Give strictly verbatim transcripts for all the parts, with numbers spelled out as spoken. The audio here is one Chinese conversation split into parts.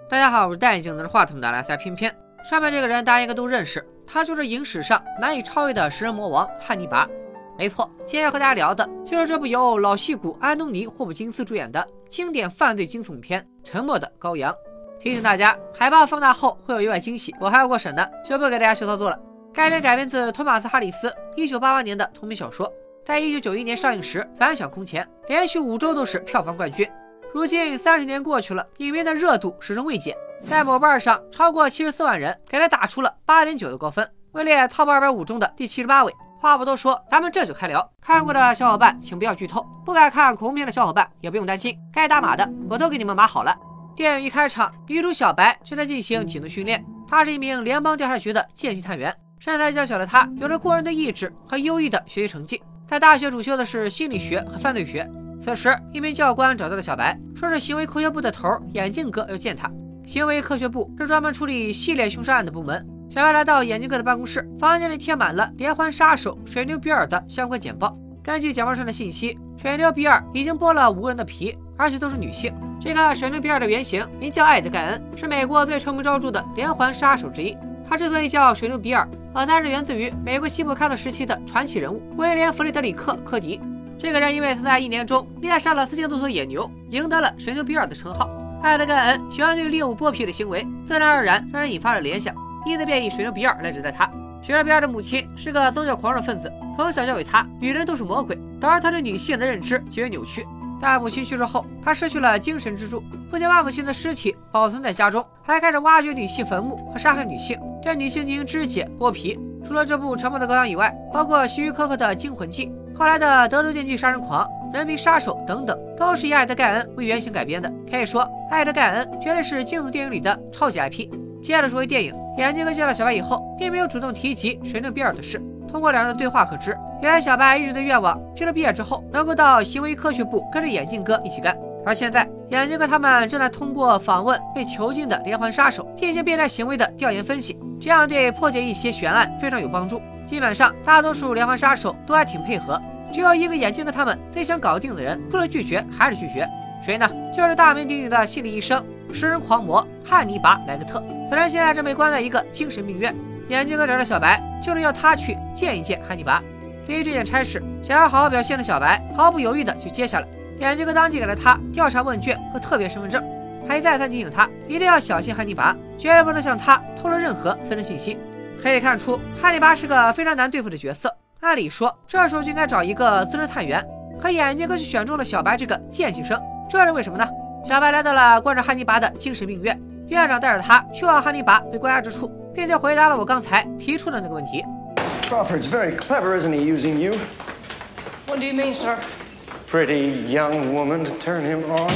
大家好，我是戴眼镜拿着话筒的来塞偏偏。上面这个人大家应该都认识，他就是影史上难以超越的食人魔王汉尼拔。没错，今天要和大家聊的就是这部由老戏骨安东尼·霍普金斯主演的经典犯罪惊悚片《沉默的羔羊》。提醒大家，海报放大后会有意外惊喜，我还要过审的，就不给大家秀操作了。该片改编自托马斯·哈里斯一九八八年的同名小说，在一九九一年上映时反响空前，连续五周都是票房冠军。如今三十年过去了，影片的热度始终未减，在某瓣上超过七十四万人给他打出了八点九的高分，位列 Top 二百五中的第七十八位。话不多说，咱们这就开聊。看过的小伙伴请不要剧透，不敢看恐怖片的小伙伴也不用担心，该打码的我都给你们码好了。电影一开场，女主小白正在进行体能训练，她是一名联邦调查局的见习探员，身材较小的她有着过人的意志和优异的学习成绩，在大学主修的是心理学和犯罪学。此时，一名教官找到了小白，说是行为科学部的头眼镜哥要见他。行为科学部是专门处理系列凶杀案的部门。小白来到眼镜哥的办公室，房间里贴满了连环杀手水牛比尔的相关简报。根据简报上的信息，水牛比尔已经剥了五个人的皮，而且都是女性。这个水牛比尔的原型名叫艾德盖恩，是美国最臭名昭著的连环杀手之一。他之所以叫水牛比尔，而他是源自于美国西部开拓时期的传奇人物威廉·弗雷德里克·科迪。这个人因为曾在一年中猎杀了四千多头野牛，赢得了水牛比尔的称号。艾德盖恩喜欢对猎物剥皮的行为，自然而然让人引发了联想，因此便以水牛比尔来指代他。水牛比尔的母亲是个宗教狂热分子，从小教给他女人都是魔鬼，导致他对女性的认知极为扭曲。在母亲去世后，他失去了精神支柱，不仅把母亲的尸体保存在家中，还开始挖掘女性坟墓和杀害女性，对女性进行肢解剥皮。除了这部《沉默的羔羊》以外，包括希区柯克的《惊魂记》，后来的《德州电锯杀人狂》、《人民杀手》等等，都是以艾德盖恩为原型改编的。可以说，艾德盖恩绝对是惊悚电影里的超级 I P。接着说回电影，眼镜哥见了小白以后，并没有主动提及水牛比尔的事。通过两人的对话可知，原来小白一直的愿望就是毕业之后能够到行为科学部跟着眼镜哥一起干。而现在，眼镜哥他们正在通过访问被囚禁的连环杀手进行变态行为的调研分析，这样对破解一些悬案非常有帮助。基本上，大多数连环杀手都还挺配合，只有一个眼镜哥他们最想搞定的人，除了拒绝还是拒绝。谁呢？就是大名鼎鼎的心理医生、食人狂魔汉尼拔·莱格特。此人现在正被关在一个精神病院。眼镜哥找到小白，就是要他去见一见汉尼拔。对于这件差事，想要好好表现的小白毫不犹豫地就接下了。眼镜哥当即给了他调查问卷和特别身份证，还再三提醒他一定要小心汉尼拔，绝对不能向他透露任何私人信息。可以看出，汉尼拔是个非常难对付的角色。按理说，这时候就应该找一个资深探员，可眼镜哥却选中了小白这个见习生，这是为什么呢？小白来到了关着汉尼拔的精神病院，院长带着他去往汉尼拔被关押之处，并且回答了我刚才提出的那个问题。 Crawford's very clever, isn't he, using you? What do you mean, sir? Pretty young woman to turn him on.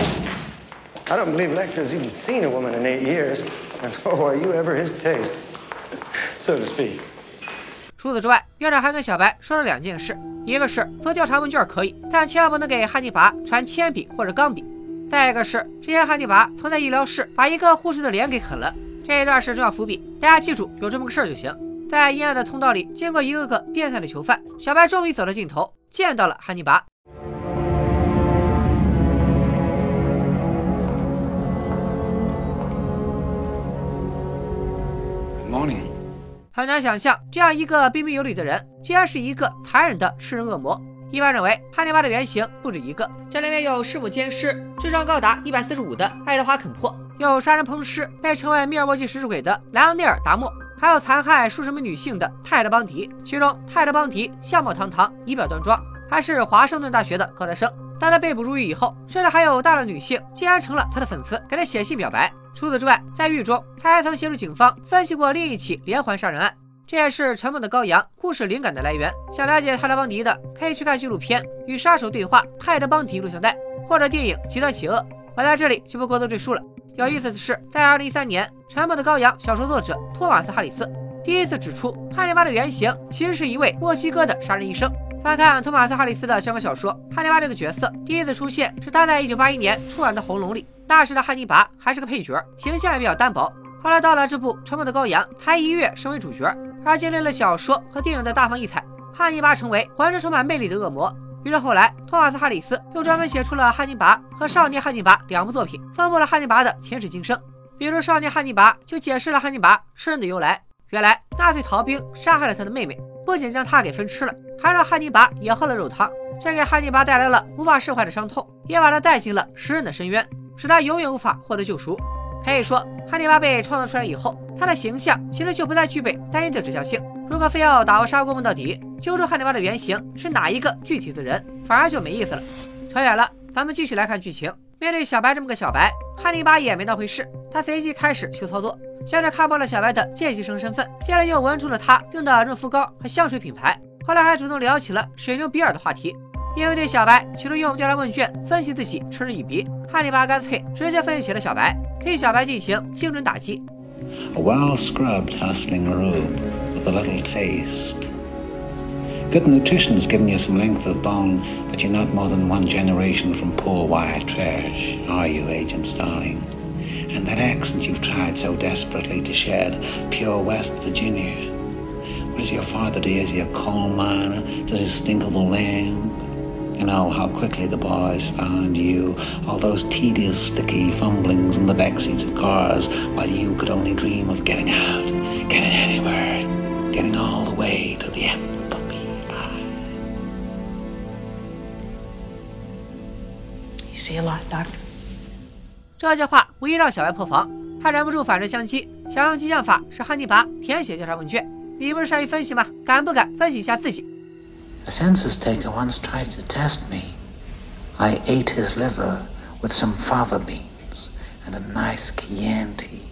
I don't believe Lecter's even seen a woman in eight years. And oh, are you ever his taste, so to speak? 除此之外，院长还跟小白说了两件事，一个是做调查问卷可以，但千万不能给汉尼拔传铅笔或者钢笔；再一个是，之前汉尼拔曾在医疗室把一个护士的脸给啃了。这一段是重要伏笔，大家记住有这么个事儿就行。在阴暗的通道里，经过一个个变态的囚犯，小白终于走到尽头，见到了汉尼拔。 Morning. 很难想象，这样一个彬彬有礼的人，竟然是一个残忍的吃人恶魔。一般认为，汉尼拔的原型不止一个，这里面有弑母奸尸，智商高达一百四十五的爱德华·肯珀，有杀人烹尸，被称为密尔沃基食尸鬼的莱昂内尔·达莫，还有残害数十名女性的泰德·邦迪。其中，泰德·邦迪相貌堂堂，仪表端庄，还是华盛顿大学的高材生。但他被捕入狱以后，甚至还有大量女性竟然成了他的粉丝，给他写信表白。除此之外，在狱中，他还曾协助警方分析过另一起连环杀人案。这也是《沉默的羔羊》故事灵感的来源。想了解泰德·邦迪的，可以去看纪录片《与杀手对话：泰德·邦迪录像带》，或者电影《极端邪恶》。我在这里就不过多赘述了。有意思的是，在二零一三年，《沉默的羔羊》小说作者托马斯·哈里斯第一次指出，汉尼拔的原型其实是一位墨西哥的杀人医生。翻看托马斯·哈里斯的相关小说，汉尼拔这个角色第一次出现是他在一九八一年出版的《红龙》里。那时的汉尼拔还是个配角，形象也比较单薄。后来到了这部《沉默的羔羊》，他一跃升为主角。而经历了小说和电影的大放异彩，汉尼拔成为浑身充满魅力的恶魔。于是后来，托马斯·哈里斯又专门写出了《汉尼拔》和《少年汉尼拔》两部作品，丰富了汉尼拔的前世今生。 比如少年汉尼拔就解释了汉尼拔吃人的由来。原来纳粹逃兵杀害了他的妹妹，不仅将他给分吃了，还让汉尼拔也喝了肉汤，这给汉尼拔带来了无法释怀的伤痛，也把他带进了食人的深渊，使他永远无法获得救赎。可以说，汉尼拔被创造出来以后，他的形象其实就不再具备单一的指向性。如果非要打过砂锅问到底，揪出汉尼拔的原型是哪一个具体的人，反而就没意思了。扯远了，咱们继续来看剧情。面对小白这么个小白，汉尼拔也没当回事，他随即开始去操作。先是看破了小白的见习生身份，接着又闻出了他用的润肤膏和香水品牌，后来还主动聊起了水牛比尔的话题。因为对小白企图用调查问卷分析自己嗤之以鼻，汉尼拔干脆直接分析起了小白，对小白进行精准打击。 A well-scrubbed, hustling robe with a little taste. Good nutrition's given you some length of bone, but you're not more than one generation from poor white trash, are you, Agent Starling? And that accent you've tried so desperately to shed, pure West Virginia. What does your father do? Is he a coal miner? Does he stink of the land? You know how quickly the boys found you, all those tedious, sticky fumblings in the backseats of cars, while you could only dream of getting out, getting anywhere, getting all the way to the F B I. You see a lot, Doctor? 这句话无疑让小白破防，他忍不住反唇相讥，想用激将法使汉尼拔填写调查问卷。你不是善于分析吗？敢不敢分析一下自己？ A census taker once tried to test me. I ate his liver with some fava beans and a nice Chianti.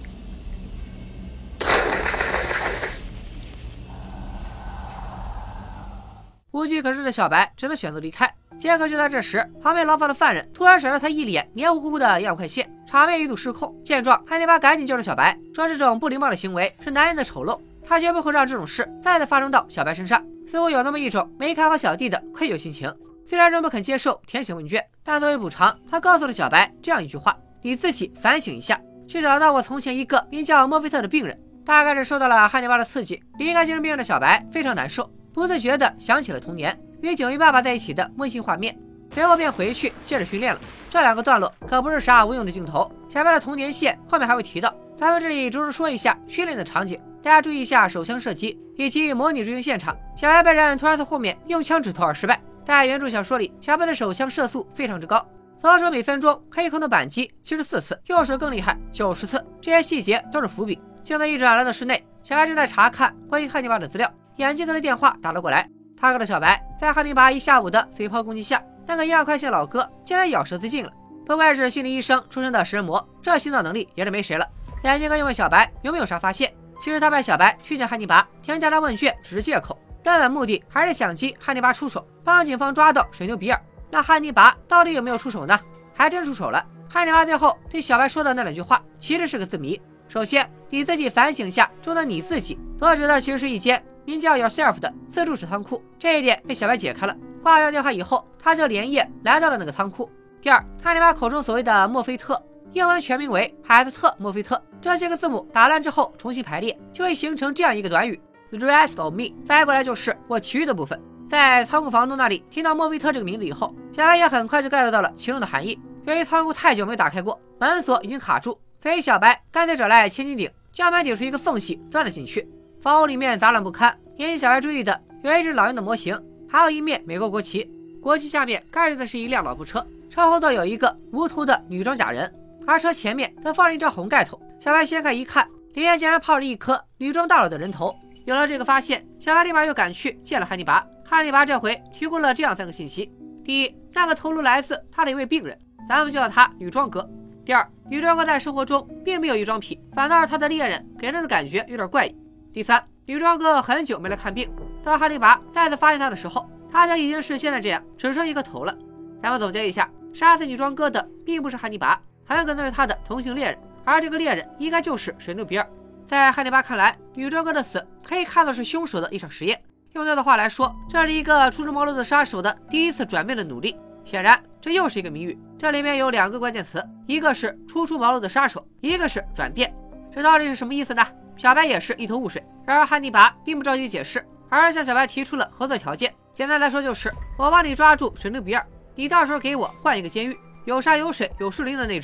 无计可施的小白只能选择离开。结果就在这时，旁边牢房的犯人突然闪着他一脸黏糊糊的烟雾快线，场面一度失控。见状，汉尼拔赶紧救着小白，说这种不礼貌的行为是男人的丑陋，他绝不会让这种事再次发生到小白身上。似乎有那么一种没看好小弟的愧疚心情。虽然仍不肯接受填写问卷，但作为补偿，他告诉了小白这样一句话：你自己反省一下，去找到我从前一个名叫莫菲特的病人。大概是受到了汉尼拔的刺激，离开精神病院的小白非常难受，不自觉地想起了童年与九一爸爸在一起的温馨画面，随后便回去接着训练了。这两个段落可不是啥无用的镜头，小白的童年线后面还会提到。咱们这里着重说一下训练的场景，大家注意一下手枪射击以及模拟执行现场。小白被人突然从后面用枪指头而失败。在原著小说里，小白的手枪射速非常之高，左手每分钟可以控制扳机七十四次，右手更厉害九十次，这些细节都是伏笔。镜头一转来到室内，小白正在查看关于汉尼拔的资料，眼镜哥的电话打了过来。他告诉小白，在汉尼拔一下午的随炮攻击下，那个烟快线老哥竟然咬舌自尽了。不愧是心理医生出身的食人魔，这心脏能力也是没谁了。眼镜哥又问小白有没有啥发现，其实他派小白去见汉尼拔填调查问卷只是借口，根本目的还是想激汉尼拔出手，帮警方抓到水牛比尔。那汉尼拔到底有没有出手呢？还真出手了。汉尼拔最后对小白说的那两句话其实是个字谜。首先，你自己反省一下中的你自己，所指的其实是一间名叫 Yourself 的自助式仓库，这一点被小白解开了。挂掉电话以后，他就连夜来到了那个仓库。第二，汉尼拔口中所谓的墨菲特，英文全名为海斯特墨菲特，这些个字母打乱之后重新排列，就会形成这样一个短语 The rest of me， 翻译过来就是我其余的部分。在仓库房东那里听到墨菲特这个名字以后，小白也很快就 get 到了其中的含义。由于仓库太久没有打开过，门锁已经卡住，所以小白干脆找来千斤顶，将门顶出一个缝隙钻了进去。房屋里面杂乱不堪，引起小白注意的有一只老鹰的模型，还有一面美国国旗，国旗下面盖着的是一辆老婆车，车后座有一个无图的女装假人，而车前面则放着一张红盖头。小白掀开一看，里面竟然泡着一颗女装大佬的人头。有了这个发现，小白立马又赶去见了汉尼拔。汉尼拔这回提供了这样三个信息：第一，那个头颅来自他的一位病人，咱们就叫他女装哥。第二，女装哥在生活中并没有异装癖，反倒是他的恋人给人的感觉有点怪异。第三，女装哥很久没来看病，当汉尼拔再次发现他的时候，他就已经是现在这样，只剩一个头了。咱们总结一下，杀死女装哥的并不是汉尼拔，很可能是他的同性恋人，而这个恋人应该就是水牛比尔。在汉尼拔看来，女装哥的死可以看作是凶手的一场实验，用他的话来说，这是一个初出茅庐的杀手的第一次转变的努力。显然这又是一个谜语，这里面有两个关键词，一个是初出茅庐的杀手，一个是转变。这到底是什么意思呢？小白也是一头雾水。然而汉尼拔并不着急解释，而是向小白提出了合作条件。简单来说就是我帮你抓住水牛比尔，你到时候给我换一个监狱，有山有水有树林的那种。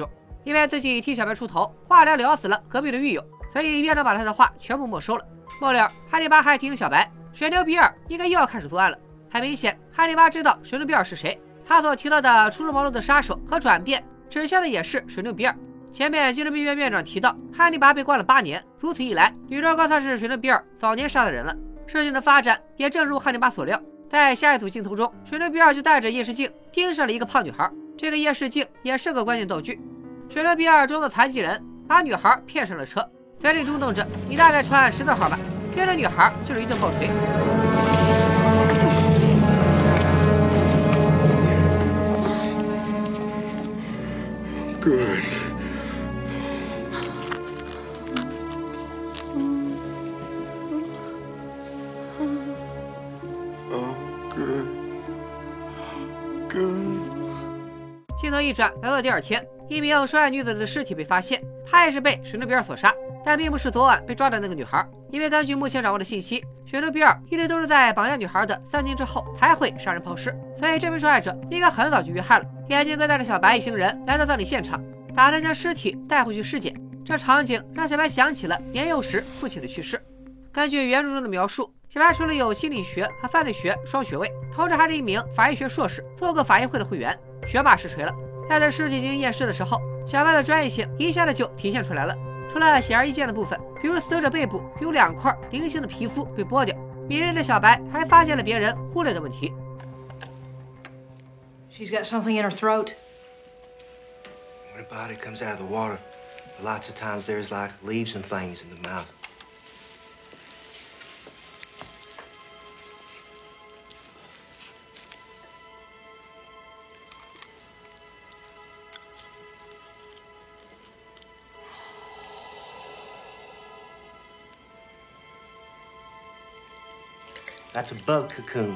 因为自己替小白出头，化疗聊死了隔壁的狱友，所以院长把他的话全部没收了。末了，汉尼拔还提醒小白，水牛比尔应该又要开始作案了。很明显，汉尼拔知道水牛比尔是谁，他所提到的初出茅庐的杀手和转变，指向的也是水牛比尔。前面精神病院院长提到，汉尼拔被关了八年，如此一来，女主高萨是水牛比尔早年杀的人了。事情的发展也正如汉尼拔所料，在下一组镜头中，水牛比尔就带着夜视镜盯上了一个胖女孩，这个夜视镜也是个关键道具。水牛比尔装作残疾人，把女孩骗上了车，嘴里嘟囔着：“你大概穿十多号吧。”对着女孩就是一顿暴锤。 Good. Oh, good. Good. 镜头一转，来到第二天，一名受害女子的尸体被发现，她也是被水牛比尔所杀，但并不是昨晚被抓的那个女孩，因为根据目前掌握的信息，水牛比尔一直都是在绑架女孩的三天之后才会杀人抛尸，所以这名受害者应该很早就遇害了。眼镜哥带着小白一行人来到葬礼现场，打算将尸体带回去尸检。这场景让小白想起了年幼时父亲的去世。根据原著中的描述，小白除了有心理学和犯罪学双学位，同时还是一名法医学硕士，做过法医会的会员，学霸实锤了。在对尸体进行验尸的时候，小白的专业性一下子就体现出来了。除了显而易见的部分，比如死者背部有两块菱形的皮肤被剥掉，敏锐的小白还发现了别人忽略的问题。 She's got something in her throat. When a body comes out of the water, lots of times there's like leaves and things in the mouth. That's a bug cocoon.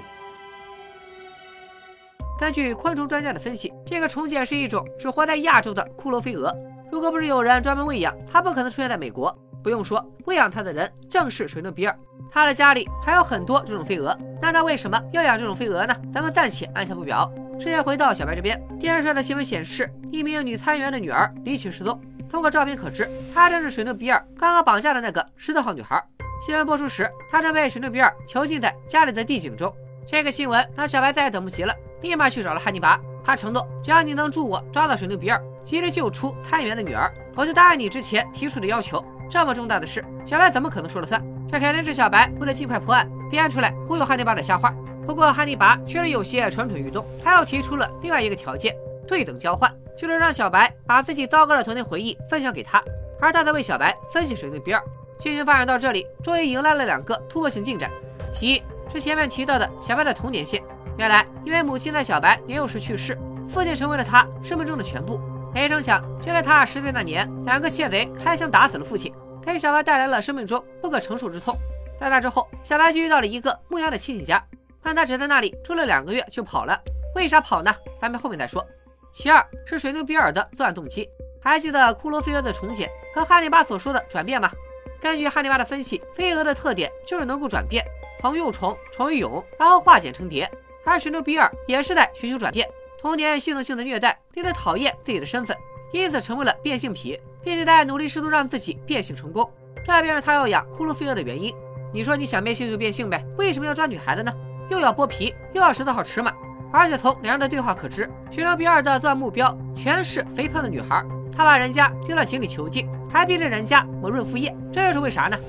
根据昆虫专家的分析，这个虫茧是一种只活在亚洲的骷髅飞蛾。如果不是有人专门喂养，它不可能出现在美国。不用说，喂养它的人正是水牛比尔。他的家里还有很多这种飞蛾，那他为什么要养这种飞蛾呢？咱们暂且按下不表。事件回到小白这边，电视上的新闻显示，一名女参议员的女儿离奇失踪。通过照片可知，她正是水牛比尔刚刚绑架的那个十多号女孩。新闻播出时，她正被水牛比尔囚禁在家里的地井中。这个新闻让小白再也等不及了，立马去找了汉尼拔。他承诺，只要你能助我抓到水牛比尔，及时救出参议员的女儿，我就答应你之前提出的要求。这么重大的事，小白怎么可能说了算？这肯定是小白为了尽快破案编出来忽悠汉尼拔的瞎话。不过汉尼拔确实有些蠢蠢欲动，他又提出了另外一个条件：对等交换，就是让小白把自己糟糕的童年回忆分享给他，而他则为小白分析水牛比尔。剧情发展到这里，终于迎来了两个突破性进展。其一是前面提到的小白的童年线，原来因为母亲在小白年幼时去世，父亲成为了他生命中的全部。没成想，就在他十岁那年，两个窃贼开枪打死了父亲，给小白带来了生命中不可承受之痛。在那之后，小白就遇到了一个牧羊的亲戚家，但他只在那里住了两个月就跑了。为啥跑呢？咱们后面再说。其二是水牛比尔的作案动机。还记得骷髅飞蛾的重茧和汉尼拔所说的转变吗？根据汉尼拔的分析，飞蛾的特点就是能够转变，从幼虫成为蛹，然后化茧成蝶。而水牛比尔也是在寻求转变，童年系统性的虐待令他讨厌自己的身份，因此成为了变性癖，并且在努力试图让自己变性成功，这便是他要养骷髅飞蛾的原因。你说你想变性就变性呗，为什么要抓女孩子呢？又要剥皮，又要十多号尺码。而且从两人的对话可知，水牛比尔的作案目标全是肥胖的女孩，他把人家丢到井里囚禁，还逼着人家抹润肤液，这又是为啥呢？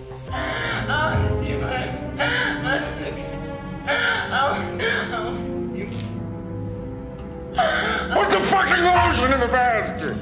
Put the fucking lotion in the basket!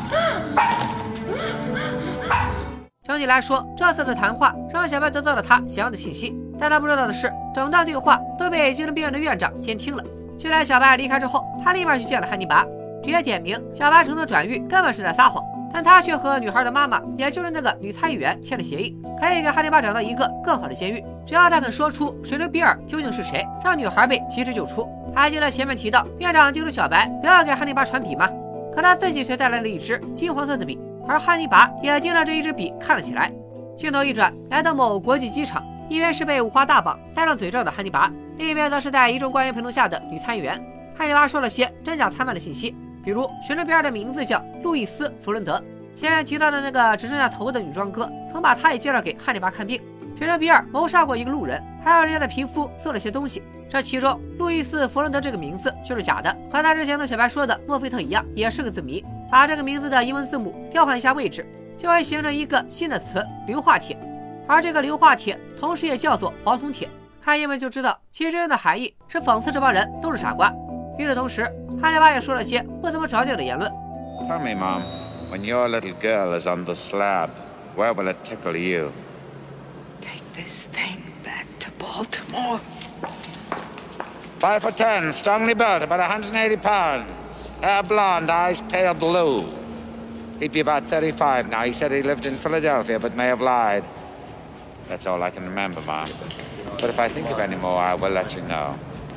整体来说，这次的谈话让小白得到了他想要的信息，但他不知道的是，整段对话都被精神病院的院长监听了。就在小白离开之后，他立马去见了汉尼拔，直接点名小白承诺转狱根本是在撒谎，但他却和女孩的妈妈，也就是那个女参议员签了协议，可以给汉尼拔找到一个更好的监狱，只要他肯说出水牛比尔究竟是谁，让女孩被及时救出。还记得前面提到院长叮嘱小白不要给汉尼拔传笔吗？可他自己却带来了一支金黄色的笔，而汉尼拔也盯着这一支笔看了起来。镜头一转，来到某国际机场，一边是被五花大绑戴上嘴罩的汉尼拔，另一边则是在一众官员陪同下的女参议员。汉尼拔说了些真假参半的信息， 比如水生比尔的名字叫路易斯·弗伦德，前面提到的那个只剩下头的女装哥，曾把他也介绍给汉尼拔看病。水生比尔谋杀过一个路人，还让人家的皮肤做了些东西。这其中，路易斯·弗伦德这个名字就是假的，和他之前对小白说的墨菲特一样，也是个字谜。把这个名字的英文字母调换一下位置，就会形成一个新的词——硫化铁。而这个硫化铁，同时也叫做黄铜铁。看英文就知道，其实真正的含义是讽刺这帮人都是傻瓜。与此同时，汉尼拔也说了些不怎么着调的言论。 Tell me, Mom, when your little girl is on the slab, where will it tickle you? Take this thing back to Baltimore. Five foot ten, strongly built, about one hundred eighty pounds. Hair blonde, eyes pale blue. He'd be about thirty-five now. He said he lived in Philadelphia, but may have lied. That's all I can remember, Mom. But if I think of any more, I will let you know.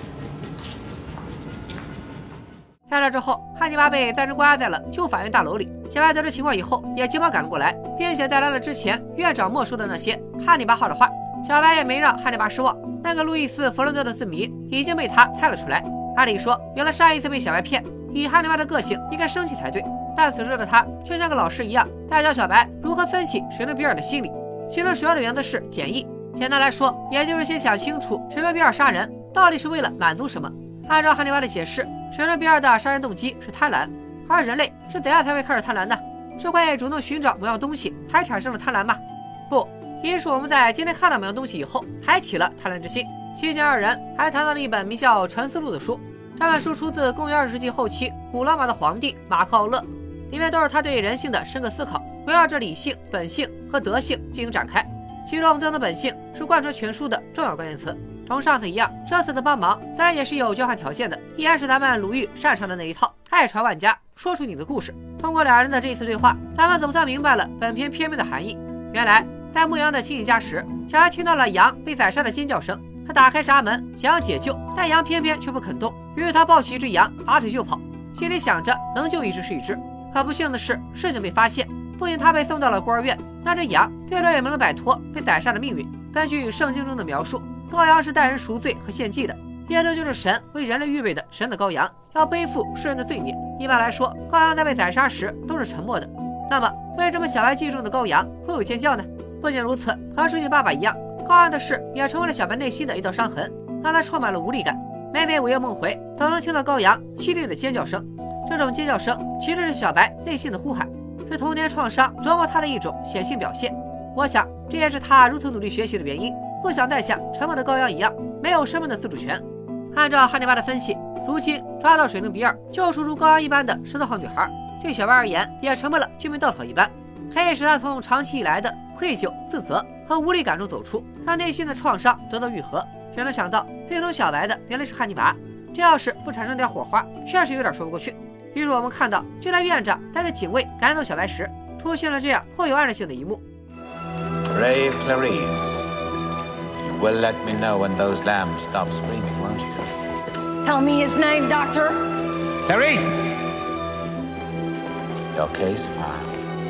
在这之后，汉尼拔被暂时关押在了旧法院大楼里。小白得知情况以后，也急忙赶了过来，并且带来了之前院长没收的那些汉尼拔画的画。小白也没让汉尼拔失望，那个路易斯·弗伦德的字谜已经被他猜了出来。按理说，原来上一次被小白骗，以汉尼拔的个性应该生气才对，但此时的他却像个老师一样，在教小白如何分析水伦比尔的心理。其中主要的原则是简易，简单来说，也就是先想清楚水伦比尔杀人到底是为了满足什么。按照汉尼拔的解释，水伦比尔的杀人动机是贪婪，而人类是怎样才会开始贪婪的？是会主动寻找某样东西才产生了贪婪吗？不，一是我们在今天看到某样东西以后才起了贪婪之心。期间二人还谈到了一本名叫《沉思录》的书，这本书出自公元二十世纪后期古罗马的皇帝马克奥勒，里面都是他对人性的深刻思考，围绕着理性、本性和德性进行展开。其中自由的本性是贯穿全书的重要关键词。同上次一样，这次的帮忙自然也是有交换条件的，依然是咱们鲁豫擅长的那一套，爱传万家，说出你的故事。通过两人的这一次对话，咱们总算明白了本片片名的含义。原来在牧羊的亲戚家时，小孩听到了羊被宰杀的尖叫声，他打开闸门想要解救，但羊偏偏却不肯动，于是他抱起一只羊，拔腿就跑，心里想着能救一只是一只。可不幸的是，事情被发现，不仅他被送到了孤儿院，那只羊最终也没能摆脱被宰杀的命运。根据圣经中的描述，羔羊是带人赎罪和献祭的，耶稣就是神为人类预备的神的羔羊，要背负世人的罪孽。一般来说，羔羊在被宰杀时都是沉默的，那么为什么小白记忆中的羔羊会有尖叫呢？不仅如此，和书记爸爸一样，羔羊的事也成为了小白内心的一道伤痕，让他充满了无力感。每每午夜梦回，总能听到羔羊凄厉的尖叫声，这种尖叫声其实是小白内心的呼喊，是童年创伤折磨他的一种显性表现。我想这也是他如此努力学习的原因，不想再像沉默的羔羊一样没有生命的自主权。按照汉尼拔的分析，如今抓到水灵比尔，救赎如羔羊一般的十四号女孩，对小白而言也成为了救命稻草一般，可以使他从长期以来的愧疚、自责和无力感中走出，让内心的创伤得到愈合。谁能想到最终小白的原来是汉尼拔，这要是不产生点火花，确实有点说不过去。比如我们看到，就在院长带着警卫赶走小白时，出现了这样颇有暗示性的一幕。 Brave Clarice, you will let me know when those lambs stop screaming, won't you? Tell me his name, Doctor. Clarice! Your case filed.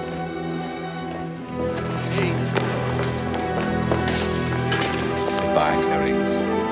Goodbye, Clarice.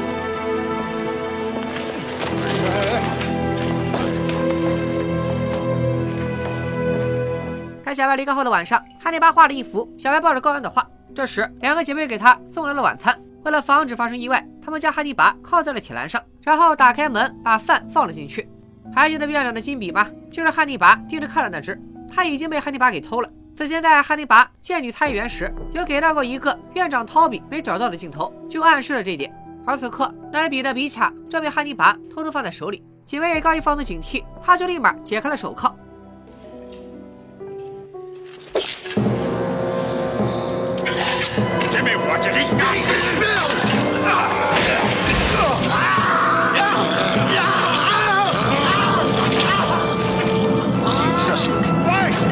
在小白离开后的晚上，汉尼拔画了一幅小白抱着羔羊的画。这时，两个姐妹给他送来了晚餐。为了防止发生意外，他们将汉尼拔铐在了铁栏上，然后打开门，把饭放了进去。还记得院长的金笔吗？就是汉尼拔盯着看的那只，他已经被汉尼拔给偷了。此前在汉尼拔见女参议员时，有给到过一个院长掏笔没找到的镜头，就暗示了这一点。而此刻，那支笔的笔卡正被汉尼拔偷偷放在手里。警卫刚一放松警惕，他就立马解开了手铐。 Jimmy, watch it. He's got Jesus Christ!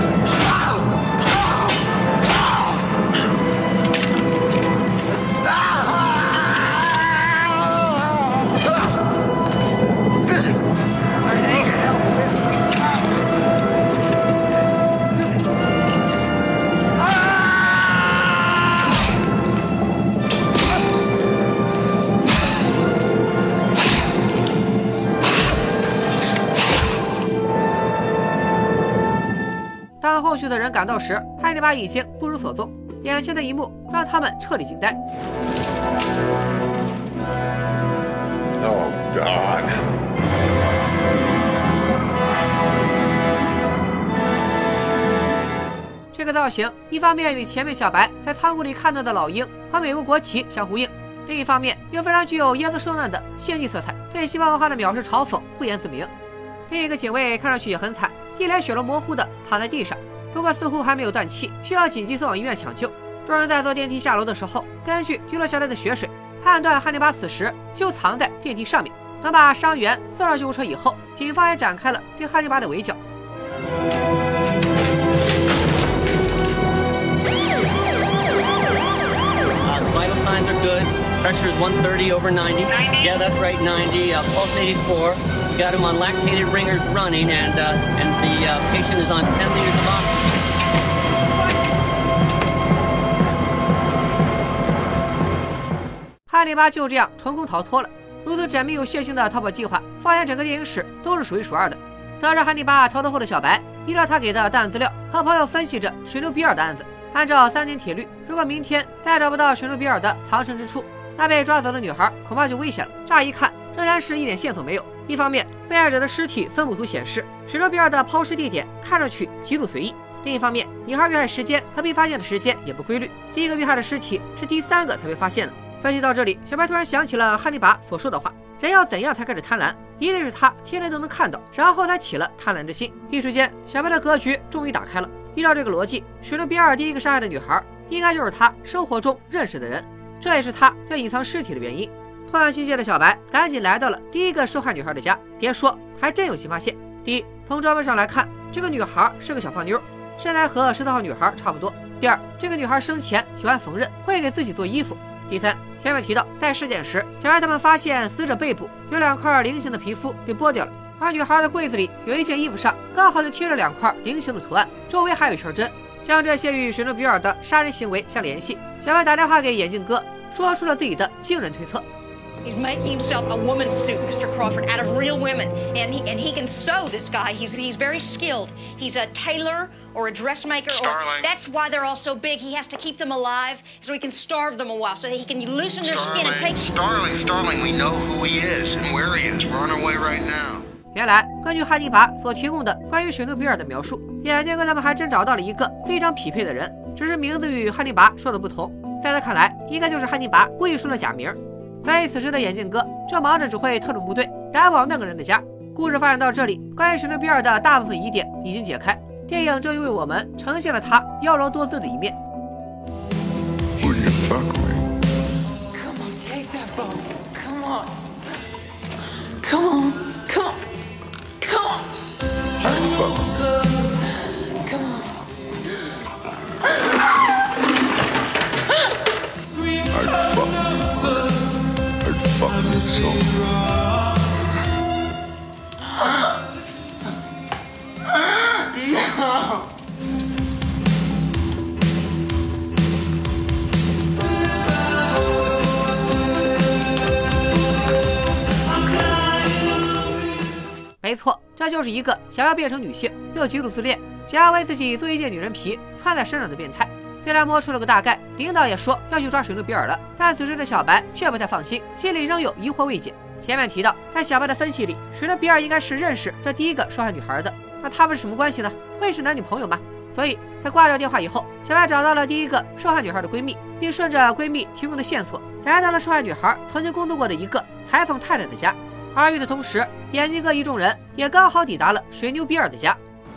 后续的人赶到时，汉尼拔已经不知所踪。眼前的一幕让他们彻底惊呆。 Oh, God. 这个造型，一方面与前面小白在仓库里看到的老鹰和美国国旗相呼应，另一方面又非常具有椰子受难的炫技色彩，对西方文化的藐视嘲讽不言自明。另一个警卫看上去也很惨，一脸血肉模糊的躺在地上，不过似乎还没有断气，需要紧急送往医院抢救。众人在坐电梯下楼的时候，根据滴落下来的血水，判断汉尼拔此时就藏在电梯上面。等把伤员送上救护车以后，警方也展开了对汉尼拔的围剿。 Vital signs are good. Pressure is one thirty over ninety. Yeah, that's right, ninety. Uh, pulse eighty-four. We got him on lactated ringers running, and uh, and the uh, patient is on ten liters of oxygen. 汉尼拔就这样成功逃脱了。如此缜密又血腥的逃跑计划，放眼整个电影史都是数一数二的。得知汉尼拔逃脱后的小白，依照他给的档案资料，和朋友分析着水牛比尔的案子。 按照三点铁律，如果明天再找不到水牛比尔的藏身之处，那被抓走的女孩恐怕就危险了。乍一看，仍然是一点线索没有。一方面，被害者的尸体分布图显示，水牛比尔的抛尸地点看上去极度随意；另一方面，女孩遇害时间和被发现的时间也不规律。第一个遇害的尸体是第三个才被发现的。分析到这里，小白突然想起了汉尼拔所说的话：人要怎样才开始贪婪？一定是他天天都能看到，然后才起了贪婪之心。一时间，小白的格局终于打开了。 依照这个逻辑，水牛比尔第一个杀害的女孩，应该就是他生活中认识的人，这也是他要隐藏尸体的原因。破案心切的小白赶紧来到了第一个受害女孩的家，别说，还真有新发现。第一，从装扮上来看，这个女孩是个小胖妞，身材和十四号女孩差不多。第二，这个女孩生前喜欢缝纫，会给自己做衣服。第三，前面提到，在尸检时，小白他们发现死者背部有两块菱形的皮肤被剥掉了。 而女孩的柜子里有一件衣服上刚好就贴着两块菱形的图案，周围还有一圈针，将这些与水牛比尔的杀人行为相联系。小白打电话给眼镜哥，说出了自己的惊人推测。 He's making himself a woman's suit, Mister Crawford, out of real women, and he and he can sew. This guy, he's he's very skilled. He's a tailor or a dressmaker. Starling. Or, that's why they're all so big. He has to keep them alive so he can starve them a while, so that he can loosen their skin and take. Starling, Starling, we know who he is and where he is. We're on our way right now. 原来，根据汉尼拔所提供的关于水牛比尔的描述，眼镜哥他们还真找到了一个非常匹配的人，只是名字与汉尼拔说的不同。在他看来，应该就是汉尼拔故意说了假名。所以此时的眼镜哥正忙着指挥特种部队赶往那个人的家。故事发展到这里，关于水牛比尔的大部分疑点已经解开，电影终于为我们呈现了他妖娆多姿的一面。 Who do you fuck with? Come on, take that boat. Come on. Come on. Come on. Come on. I fuck with. Come on. I fuck with. I fuck with so. No. 没错，这就是一个想要变成女性又极度自恋，想要为自己做一件女人皮穿在身上的变态。虽然摸出了个大概，领导也说要去抓水牛比尔了，但此时的小白却不太放心，心里仍有疑惑未解。前面提到，在小白的分析里，水牛比尔应该是认识这第一个受害女孩的，那他们是什么关系呢？会是男女朋友吗？所以在挂掉电话以后，小白找到了第一个受害女孩的闺蜜，并顺着闺蜜提供的线索，来到了受害女孩曾经工作过的一个裁缝太太的家。而与此同时，眼镜哥一众人也刚好抵达了水牛比尔的家。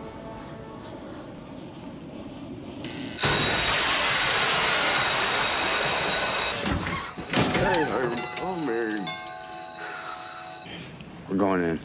Hey, oh Mary. We're going in.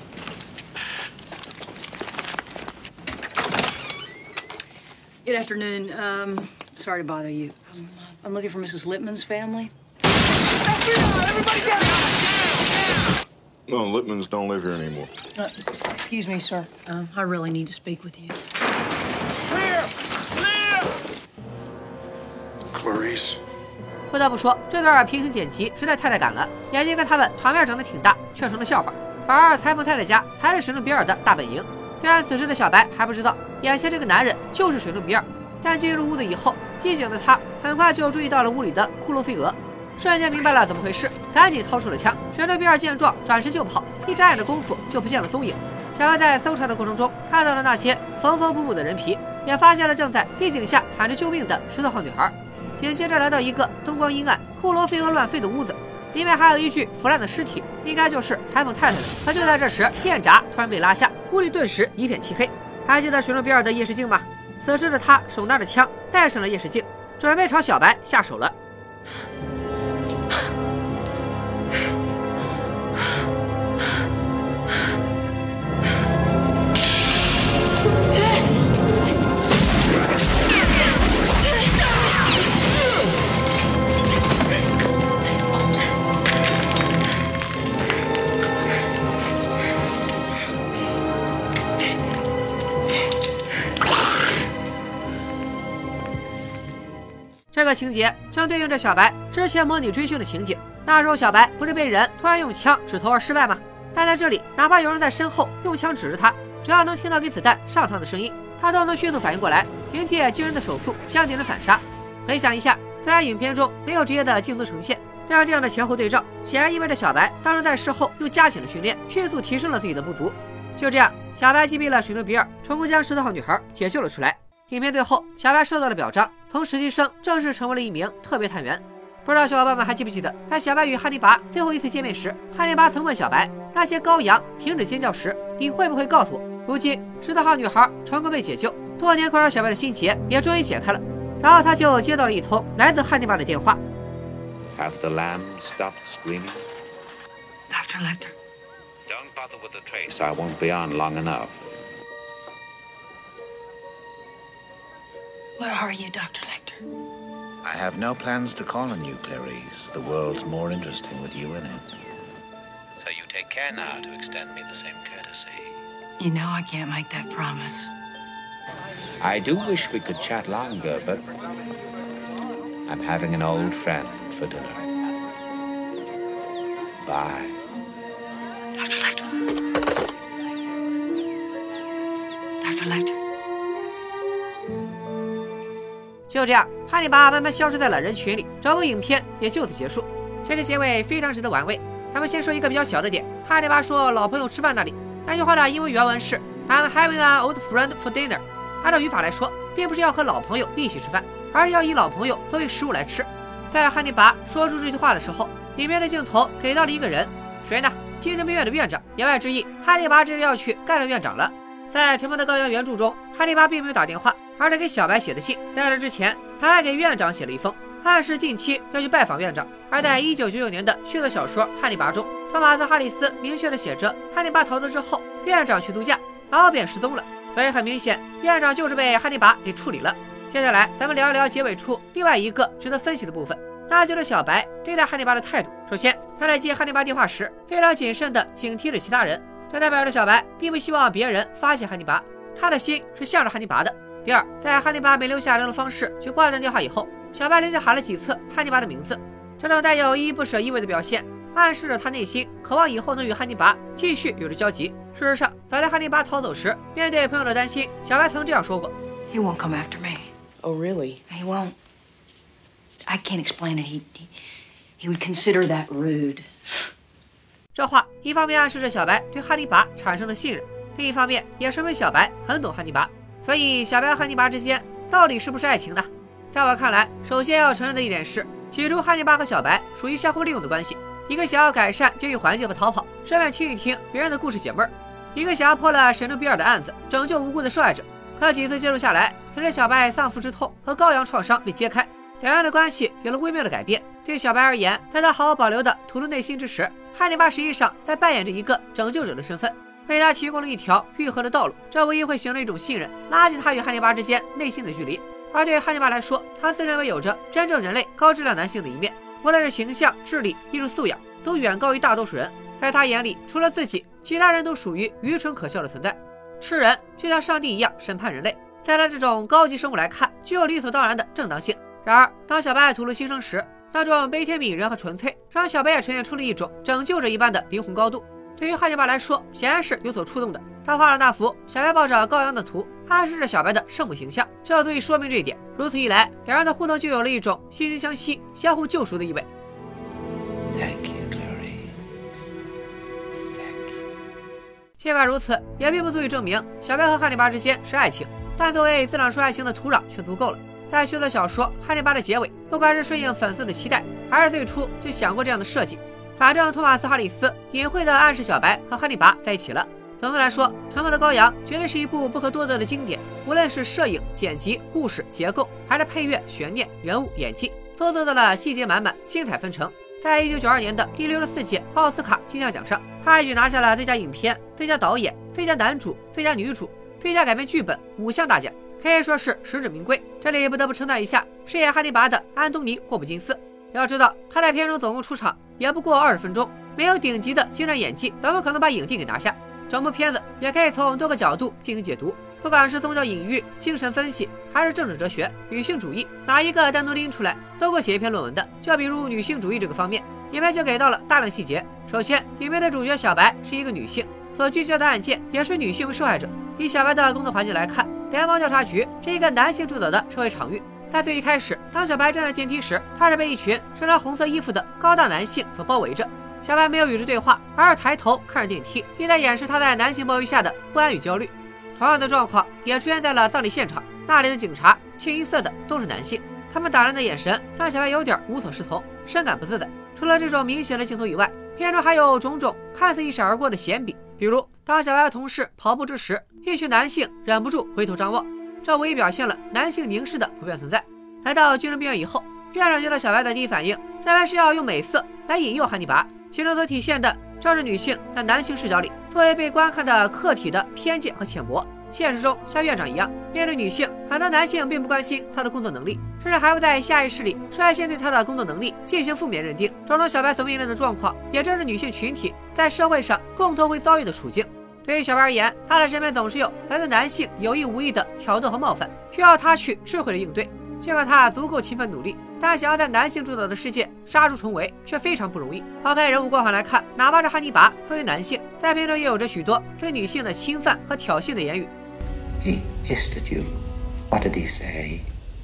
Good afternoon. Um, sorry to bother you. Um, I'm looking for Missus Lippman's family. Everybody get out! No, Lippmans don't live here anymore. Uh, excuse me, sir. Um, I really need to speak with you. Clear! Clear! Clarice. 不得不说，这段平行剪辑实在太带感了。眼镜哥他们场面整得挺大，却成了笑话。反而裁缝太太家才是水牛比尔的大本营。 虽然此时的小白还不知道眼前这个男人就是水牛比尔，但进入屋子以后，机警的他很快就注意到了屋里的骷髅飞蛾，瞬间明白了怎么回事，赶紧掏出了枪。水牛比尔见状转身就跑，一眨眼的功夫就不见了踪影。小白在搜查的过程中看到了那些缝缝补补的人皮，也发现了正在地井下喊着救命的石头号女孩。紧接着来到一个灯光阴暗、骷髅飞蛾乱飞的屋子，里面还有一具腐烂的尸体，应该就是裁缝太太的。可就在这时，电闸突然被拉下，屋里顿时一片漆黑。还记得水牛比尔的夜视镜吗？此时的他手拿着枪，戴上了夜视镜，准备朝小白下手了。这个情节正对应着小白之前模拟追凶的情景。那时候小白不是被人突然用枪指头而失败吗？但在这里，哪怕有人在身后用枪指着他，只要能听到给子弹上膛的声音，他都能迅速反应过来，凭借惊人的手速将敌人反杀。回想一下，虽然影片中没有直接的镜头呈现，但这样的前后对照，显然意味着小白当时在事后又加紧了训练，迅速提升了自己的不足。就这样，小白击毙了水牛比尔，成功将石头号女孩解救了出来。影片最后，小白受到了表彰，从实习生正式成为了一名特别探员。不知道小伙伴们还记不记得，在小白与汉尼拔最后一次见面时，汉尼拔曾问小白，那些羔羊停止尖叫时，你会不会告诉我？如今石头号女孩成功被解救，多年困扰小白的心结也终于解开了。然后他就接到了一通来自汉尼拔的电话。 Have the lamb stopped screaming? Doctor Lecter. Don't bother with the trace. I won't be on long enough. Where are you, Doctor Lecter? I have no plans to call on you, Clarice. The world's more interesting with you in it. So you take care now to extend me the same courtesy. You know I can't make that promise. I do wish we could chat longer, but I'm having an old friend for dinner. Bye. Doctor Lecter. Doctor Lecter. 就这样，汉尼拔慢慢消失在了人群里，整部影片也就此结束。这个结尾非常值得玩味。咱们先说一个比较小的点，汉尼拔说老朋友吃饭那里，那句话的英文原文是 I'm having an old friend for dinner。按照语法来说，并不是要和老朋友一起吃饭，而是要以老朋友作为食物来吃。在汉尼拔说出这句话的时候，里面的镜头给到了一个人，谁呢？精神病院的院长。言外之意，汉尼拔这是要去干掉院长了。在《沉默的羔羊》原著中，汉尼拔并没有打电话，而是给小白写的信。在这之前，他还给院长写了一封，暗示近期要去拜访院长。而在一九九九年的续作小说《汉尼拔》中，托马斯·哈里斯明确地写着，汉尼拔逃走之后，院长去度假，然后便失踪了。所以很明显，院长就是被汉尼拔给处理了。接下来，咱们聊一聊结尾处另外一个值得分析的部分，那就是小白对待汉尼拔的态度。首先，他在接汉尼拔电话时，非常谨慎地警惕着其他人。这代表着小白并不希望别人发现汉尼拔，他的心是向着汉尼拔的。第二，在汉尼拔没留下联络方式去挂断电话以后，小白连着喊了几次汉尼拔的名字，这种带有依依不舍意味的表现，暗示着他内心渴望以后能与汉尼拔继续有着交集。事实上，早在汉尼拔逃走时，面对朋友的担心，小白曾这样说过 He won't come after me. Oh, really? He won't. I can't explain it. He, he, he would consider that rude. 这话一方面暗示着小白对汉尼拔产生了信任，另一方面也说明小白很懂汉尼拔。所以小白和汉尼拔之间到底是不是爱情呢？在我看来，首先要承认的一点是，起初汉尼拔和小白属于相互利用的关系，一个想要改善监狱环境和逃跑，顺便听一听别人的故事解闷儿；一个想要破了神农比尔的案子，拯救无辜的受害者。可几次接触下来，随着小白丧父之痛和羔羊创伤被揭开，两人的关系有了微妙的改变。对小白而言，在他毫无保留地吐露内心之时，汉尼拔实际上在扮演着一个拯救者的身份，为他提供了一条愈合的道路。这无疑会形成一种信任，拉近他与汉尼拔之间内心的距离。而对汉尼拔来说，他自认为有着真正人类高质量男性的一面，无论是形象、智力、艺术素养，都远高于大多数人。在他眼里，除了自己，其他人都属于愚蠢可笑的存在。吃人就像上帝一样审判人类，在他这种高级生物来看，具有理所当然的正当性。然而，当小白吐露心声时，那种悲天悯人和纯粹，让小白也呈现出了一种拯救者一般的灵魂高度。对于汉尼拔来说，显然是有所触动的。 他画了那幅小白抱着羔羊的图，暗示着小白的圣母形象，这足以说明这一点。如此一来，两人的互动就有了一种惺惺相惜、相互救赎的意味。 Thank you, Clary. 尽管如此，也并不足以证明小白和汉尼拔之间是爱情，但作为自朗说爱情的土壤却足够了。在续作小说《汉尼拔》的结尾，不管是顺应粉丝的期待，还是最初就想过这样的设计，反正托马斯·哈里斯隐晦地暗示小白和汉尼拔在一起了。总的来说，《沉默的羔羊》绝对是一部不可多得的经典，无论是摄影、剪辑、故事结构，还是配乐、悬念、人物、演技，都做到了细节满满、精彩纷呈。在一九九二年的第六十四届奥斯卡金像奖上，他一举拿下了最佳影片、最佳导演、最佳男主、最佳女主、最佳改编剧本五项大奖，可以说是实至名归。这里不得不称赞一下饰演汉尼拔的安东尼·霍普金斯。要知道，他在片中总共出场也不过二十分钟，没有顶级的精湛演技，怎么可能把影帝给拿下？整部片子也可以从多个角度进行解读，不管是宗教隐喻、精神分析，还是政治哲学、女性主义，哪一个单独拎出来都够写一篇论文的。就比如女性主义这个方面，影片就给到了大量细节。首先，影片的主角小白是一个女性，所聚焦的案件也是女性为受害者。以小白的工作环境来看，联邦调查局是一个男性主导的社会场域。在最一开始，当小白站在电梯时，他是被一群身穿红色衣服的高大男性所包围着。小白没有与之对话，而是抬头看着电梯，意在掩饰他在男性包围下的不安与焦虑。同样的状况也出现在了葬礼现场，那里的警察清一色的都是男性，他们打量的眼神让小白有点无所适从，深感不自在。除了这种明显的镜头以外，片中还有种种看似一闪而过的闲笔，比如当小白的同事跑步之时，一群男性忍不住回头张望，这无疑表现了男性凝视的普遍存在。来到精神病院以后，院长见到小白的第一反应认为是要用美色来引诱汉尼拔，其中所体现的正是女性在男性视角里作为被观看的客体的偏见和浅薄。现实中像院长一样，面对女性，很多男性并不关心她的工作能力，甚至还会在下意识里率先对她的工作能力进行负面认定。种种小白所面临的状况，也正是女性群体在社会上共同会遭遇的处境。对于小白而言，他的身边总是有来自男性有意无意的挑逗和冒犯，需要他去智慧的应对。尽管他足够勤奋努力，但想要在男性主导的世界杀出重围却非常不容易。抛开人物光环来看，哪怕是汉尼拔作为男性，在片中也有着许多对女性的侵犯和挑衅的言语。 He hissed at you. What did he say?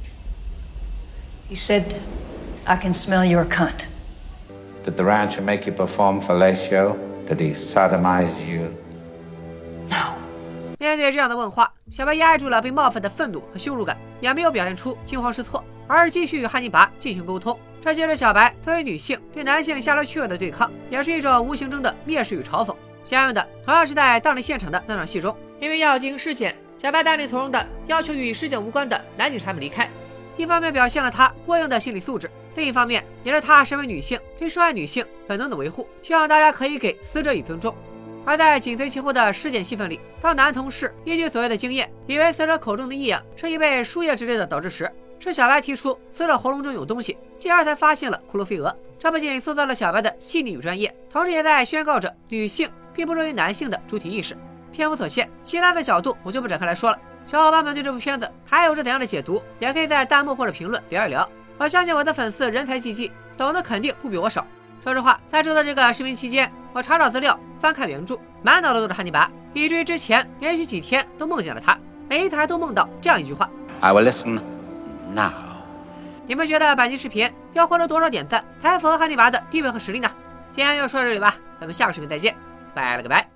He said, I can smell your cunt. Did the rancher make you perform fellatio? Did he sodomize you? No. 面对这样的问话，小白压抑住了被冒犯的愤怒和羞辱感，也没有表现出惊慌失措，而是继续与汉尼拔进行沟通。这就是小白作为女性对男性下流趣味的对抗，也是一种无形中的蔑视与嘲讽。相应的，同样是在葬礼现场的那场戏中，因为要进行尸检，小白大力投入的要求与尸检无关的男警察们离开，一方面表现了他过硬的心理素质，另一方面也是他身为女性对受害女性本能的维护，希望大家可以给死者以尊重。而在紧随其后的尸检戏份里，当男同事依据所谓的经验，以为死者口中的异样是因为输液之类的导致时，是小白提出死者喉咙中有东西，继而才发现了库洛菲俄。这不仅塑造了小白的细腻与专业，同时也在宣告着女性并不弱于男性的主体意识。篇幅所限，其他的角度我就不展开来说了。小伙伴们对这部片子还有着怎样的解读，也可以在弹幕或者评论聊一聊。我相信我的粉丝人才济济，懂得肯定不比我少。说实话，在制作这个视频期间，我查找资料，翻看原著，满脑子都是汉尼拔，以至于之前连续几天都梦见了他，每一次还都梦到这样一句话 I will listen now. 你们觉得本期视频要获得多少点赞才符合汉尼拔的地位和实力呢？今天就说到这里吧，咱们下个视频再见，拜了个拜。